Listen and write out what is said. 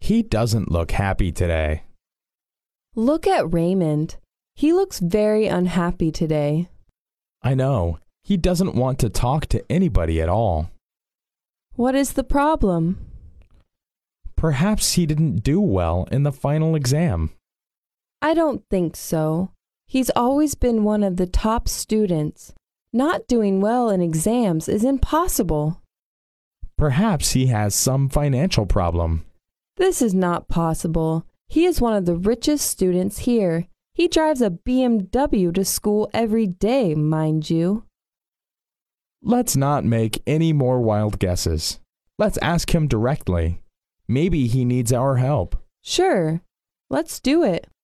He doesn't look happy today. Look at Raymond. He looks very unhappy today. I know. He doesn't want to talk to anybody at all. What is the problem? Perhaps he didn't do well in the final exam. I don't think so. He's always been one of the top students. Not doing well in exams is impossible. Perhaps he has some financial problem. This is not possible. He is one of the richest students here. He drives a BMW to school every day, mind you. Let's not make any more wild guesses. Let's ask him directly. Maybe he needs our help. Sure. Let's do it.